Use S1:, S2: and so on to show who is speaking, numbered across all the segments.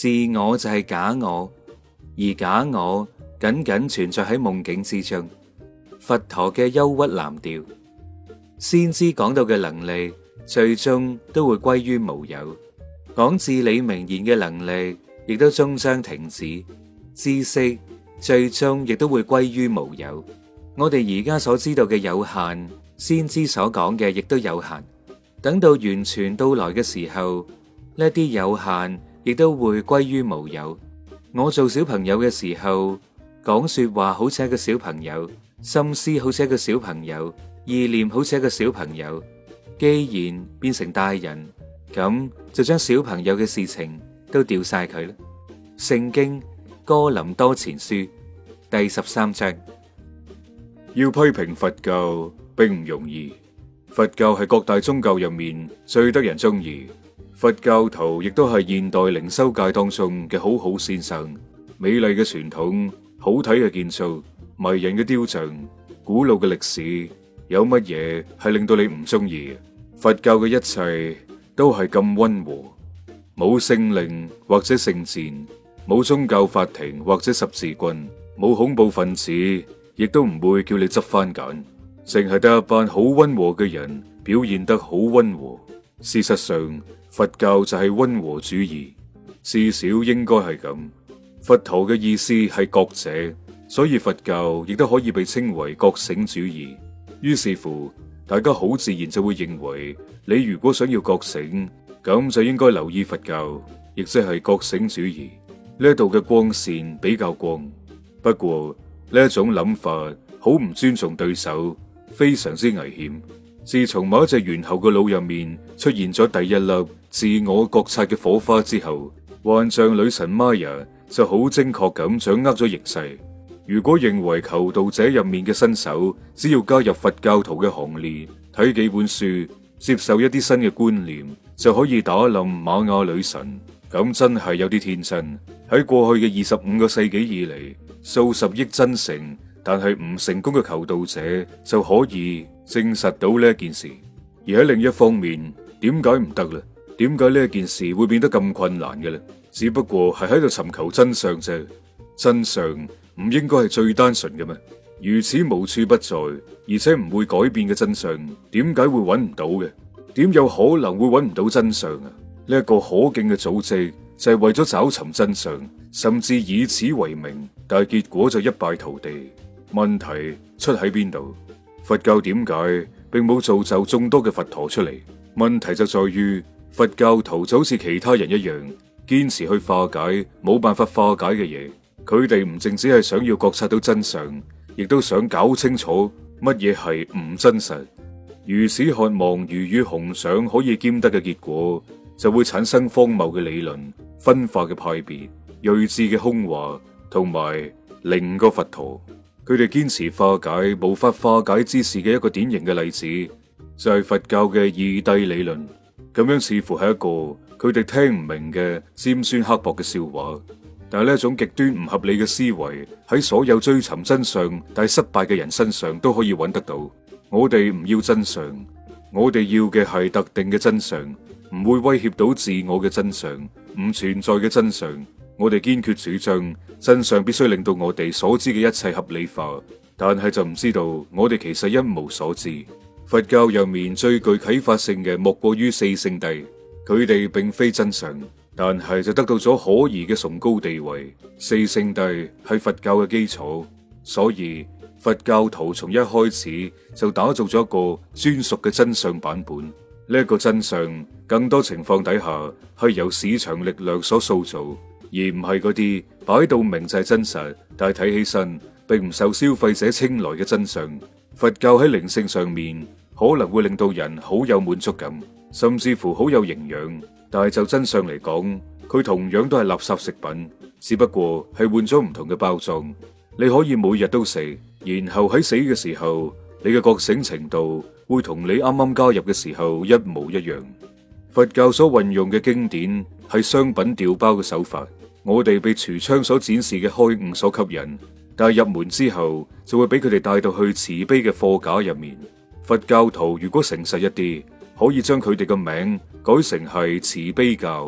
S1: 自我就係假我，而假我僅僅存在喺夢境之中。佛陀嘅憂鬱藍調，先知講到嘅能力，最終都會歸於無有；講至理名言嘅能力，亦都終將停止。知識最終亦都會歸於無有。我哋而家所知道嘅有限，先知所講嘅亦都有限。等到完全到來嘅時候，呢啲有限亦都會歸於無有。我做小朋友嘅時候，講說話好似一個小朋友，心思好似一個小朋友，意念好似一個小朋友。既然變成大人，咁就將小朋友嘅事情都掉晒佢啦。聖經哥林多前書第13章。
S2: 要批評佛教並唔容易，佛教係各大宗教入面最得人中意。佛教徒亦都係現代靈修界當中嘅好好先生。美麗嘅傳統，好睇嘅建築，迷人嘅雕像，古老嘅歷史，有乜嘢係令到你唔中意？佛教嘅一切都係咁溫和，冇聖令或者聖戰，冇宗教法庭或者十字軍，冇恐怖分子，亦都唔會叫你執番揀，淨係得一班好溫和嘅人表現得好溫和。事實上，佛教就係溫和主義，至少應該係咁。佛陀嘅意思係覺者，所以佛教亦都可以被稱為覺醒主義。於是乎，大家好自然就會認為，你如果想要覺醒，咁就應該留意佛教，亦即係覺醒主義。呢度嘅光線比較光，不過呢一種諗法好唔尊重對手，非常之危險。自從某一隻猿猴嘅腦入面出現咗第一粒自我覺察嘅火花之後，幻象女神瑪雅就好精確咁掌握咗形勢。如果認為求道者入面嘅新手只要加入佛教徒嘅行列，睇幾本書，接受一啲新嘅觀念，就可以打冧瑪雅女神，咁真係有啲天真。喺過去嘅25個世紀以嚟，數十億真誠但係唔成功嘅求道者就可以證實到呢一件事。而喺另一方面，點解唔得咧？點解呢一件事會變得咁困難嘅咧？只不過係喺度尋求真相啫。真相唔應該係最單純嘅咩？如此無處不在，而且唔會改變嘅真相，點解會揾唔到嘅？點有可能會揾唔到真相啊？呢一個可敬嘅組織就係為咗找尋真相，甚至以此為名，但係結果就一敗塗地。問題出喺邊度？佛教點解並冇造就眾多嘅佛陀出嚟？問題就在於佛教徒就好似其他人一樣，堅持去化解冇辦法化解嘅嘢。佢哋唔淨止係想要覺察到真相，亦都想搞清楚乜嘢係唔真實。如此渴望魚與熊掌可以兼得嘅結果，就會產生荒謬嘅理論、分化嘅派別、睿智嘅空話，同埋另個佛陀。佢哋堅持化解無法化解之事嘅一個典型嘅例子，就係佛教嘅二諦理論。咁樣似乎係一個佢哋聽唔明嘅尖酸刻薄嘅笑話。但係呢一種極端唔合理嘅思維，喺所有追尋真相但係失敗嘅人身上都可以揾得到。我哋唔要真相，我哋要嘅係特定嘅真相，唔會威脅到自我嘅真相，唔存在嘅真相。我哋堅決主張真相必須令到我哋所知嘅一切合理化，但係就唔知道我哋其實一無所知。佛教入面最具啟發性嘅莫過於四聖諦，佢哋並非真相，但係就得到咗可疑嘅崇高地位。四聖諦係佛教嘅基礎，所以佛教徒從一開始就打造咗一個專屬嘅真相版本。呢一個真相，更多情況底下係由市場力量所塑造，而唔係嗰啲擺到明就係真實，但係睇起身並唔受消費者青睞嘅真相。佛教喺靈性上面可能會令到人好有滿足感，甚至乎好有營養，但係就真相嚟講，佢同樣都係垃圾食品，只不過係換咗唔同嘅包裝。你可以每日都食，然後喺死嘅時候，你嘅覺醒程度會同你啱啱加入嘅時候一模一樣。佛教所運用嘅經典係商品調包嘅手法，我哋被櫥窗所展示嘅開悟所吸引，但係入門之後就會俾佢哋帶到去慈悲嘅貨架入面。佛教徒如果誠實一啲，可以將佢哋嘅名改成係慈悲教，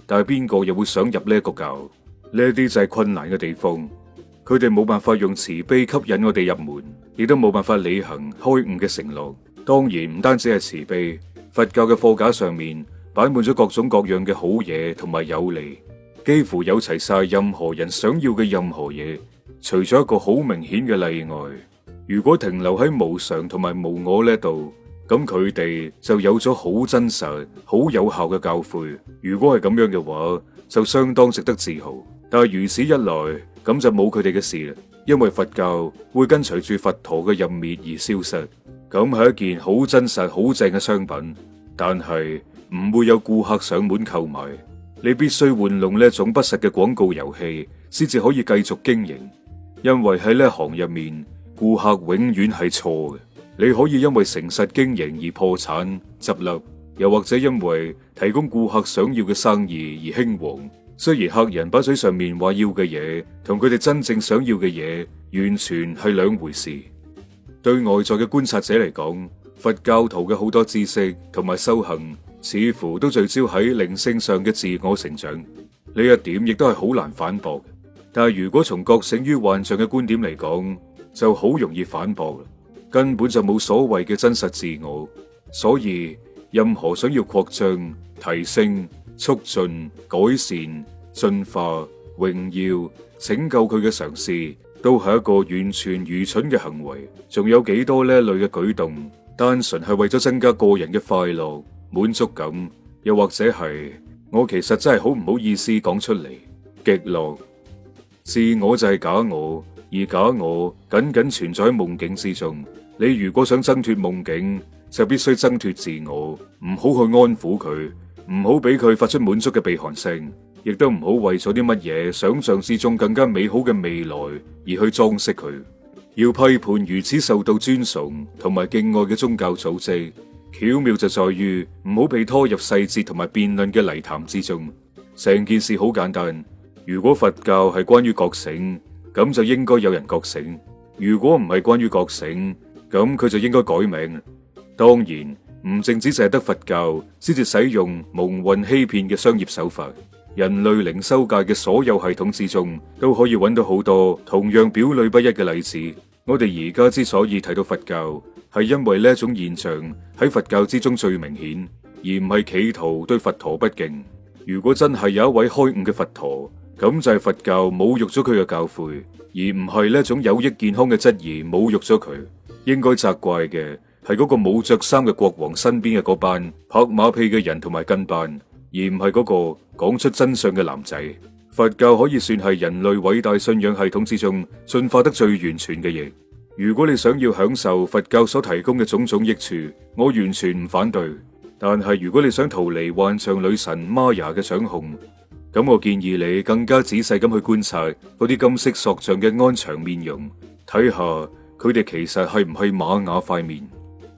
S2: 但係邊個又會想入呢一個教？呢一啲就係困難嘅地方。佢哋冇辦法用慈悲吸引我哋入門，亦都冇辦法履行開悟嘅承諾。當然唔單止係慈悲，佛教嘅貨架上面擺滿咗各種各樣嘅好嘢同埋有利，幾乎有齊晒任何人想要嘅任何嘢，除咗一個好明顯嘅例外。如果停留喺無常同埋無我呢度，咁佢哋就有咗好真實、好有效嘅教誨。如果係咁樣嘅話，就相當值得自豪。但係如此一來，咁就冇佢哋嘅事啦，因為佛教會跟隨住佛陀嘅入滅而消失。咁係一件好真實、好正嘅商品，但係唔會有顧客上門購買。你必須玩弄呢一種不實嘅廣告遊戲，先至可以繼續經營。因為喺呢一行入面，顧客永遠係錯嘅。你可以因為誠實經營而破產執笠，又或者因為提供顧客想要嘅生意而興旺。雖然客人把嘴上面話要嘅嘢，同佢哋真正想要嘅嘢完全係兩回事。對外在嘅觀察者嚟講，佛教徒嘅好多知識同埋修行，似乎都聚焦喺靈性上嘅自我成長。呢一點亦都係好難反駁。但係如果從覺醒於幻象嘅觀點嚟講，就好容易反駁啦。根本就冇所謂嘅真實自我。所以任何想要擴張、提升、促進、改善、進化、榮耀、拯救佢嘅嘗試，都係一個完全愚蠢嘅行為。仲有幾多呢一類嘅舉動，單純係為咗增加個人嘅快樂、滿足感，又或者係我其實真係好唔好意思講出嚟，極樂。自我就係假我，而假我僅僅存在喺夢境之中。你如果想掙脫夢境，就必須掙脫自我，唔好去安撫佢，唔好俾佢發出滿足嘅鼻鼾聲，亦都唔好為咗啲乜嘢想象之中更加美好嘅未來而去裝飾佢。要批判如此受到尊崇同埋敬愛嘅宗教組織，巧妙就在於唔好被拖入細節同埋辯論嘅泥潭之中。成件事好簡單，如果佛教係關於覺醒，咁就應該有人覺醒；如果唔係關於覺醒，咁佢就應該改名。當然唔淨止淨係得佛教先至使用蒙混欺騙嘅商業手法，人類靈修界嘅所有系統之中都可以揾到好多同樣表裏不一嘅例子。我哋而家之所以睇到佛教，係因為呢一種現象喺佛教之中最明顯，而唔係企圖對佛陀不敬。如果真係有一位開悟嘅佛陀，咁就係佛教侮辱咗佢嘅教誨，而唔係呢一種有益健康嘅質疑侮辱咗佢。應該責怪嘅係嗰個冇着衫嘅國王身邊嘅嗰班拍馬屁嘅人同埋跟班，而唔係嗰個講出真相嘅男仔。佛教可以算係人類偉大信仰系統之中進化得最完全嘅嘢。如果你想要享受佛教所提供嘅種種益處，我完全唔反對。但係如果你想逃離幻象女神瑪雅嘅掌控，咁我建議你更加仔細咁去觀察嗰啲金色塑像嘅安詳面容，睇下佢哋其實係唔係瑪雅塊面。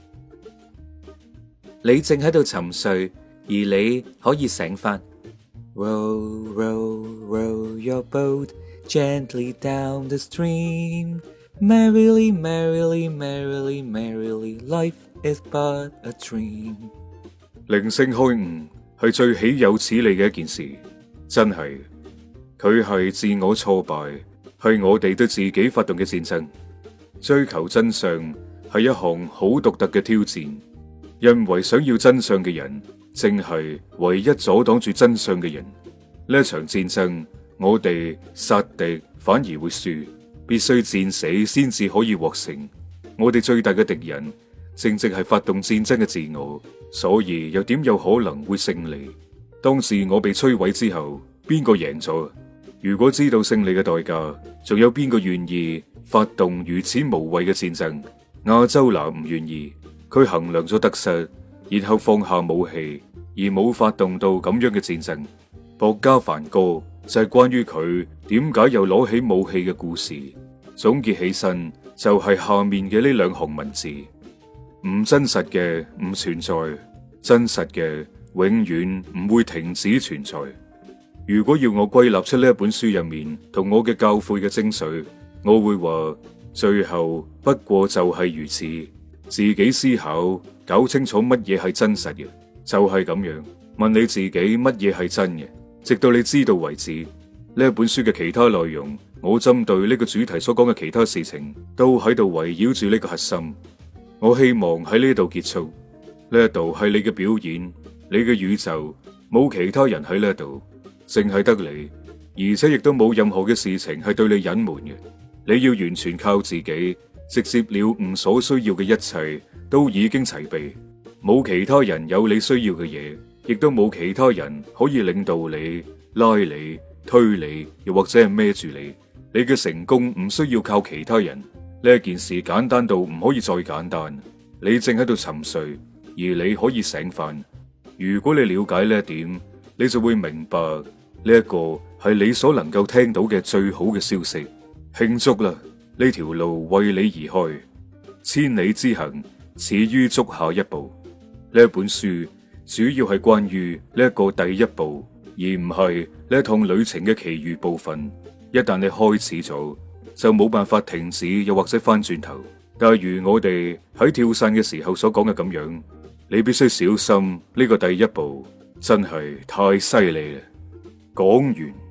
S1: 你正喺度沉睡，而你可以醒翻。Row, row, row your boat gently down the stream. Merrily, merrily, merrily, merrily, life is but a dream.
S2: 靈性開悟係最豈有此理嘅一件事，真係。佢係自我挫敗，係我哋對自己發動嘅戰爭。追求真相係一項好獨特嘅挑戰，因為想要真相嘅人正係唯一阻擋住真相嘅人。呢一場戰爭，我哋殺敵反而會輸，必須戰死先至可以獲勝。我哋最大嘅敵人正正係發動戰爭嘅自我，所以又點有可能會勝利？當自我被摧毀之後，邊個贏咗？如果知道勝利嘅代價，仲有邊個願意發動如此無謂嘅戰爭？亞洲拿唔願意，佢衡量咗得失，然後放下武器，而冇發動到咁樣嘅戰爭。薄伽梵歌就係關於佢點解又攞起武器嘅故事。總結起身就係下面嘅呢兩行文字：唔真實嘅唔存在，真實嘅永遠唔會停止存在。如果要我歸納出呢一本書入面同我嘅教誨嘅精髓，我會話最後不過就係如此。自己思考，搞清楚乜嘢係真實嘅，就係咁樣。問你自己乜嘢係真嘅， 直到你知道為止。呢一本書嘅其他內容，我針對呢個主題所講嘅其他事情，都喺度圍繞住呢個核心。我希望喺呢度結束。呢一度係你嘅表演，你嘅宇宙，冇其他人喺呢度，淨係得你，而且亦都冇任何嘅事情係對你隱瞞嘅。你要完全靠自己，直接了悟所需要嘅一切都已經齊備，冇其他人有你需要嘅嘢，亦都冇其他人可以領導你、拉你、推你，又或者係孭住你。你嘅成功唔需要靠其他人，呢一件事簡單到唔可以再簡單。你正喺度沉睡，而你可以醒返。如果你了解呢一點，你就會明白呢一個係你所能夠聽到嘅最好嘅消息。慶祝啦！呢條路為你而開，千里之行始於足下一步。呢一本書主要係關於呢一個第一步，而唔係呢一趟旅程嘅其餘部分。一旦你開始咗，就冇辦法停止，又或者翻轉頭。但係如我哋喺跳傘嘅時候所講嘅咁樣，你必須小心呢個第一步，真係太犀利啦！講完。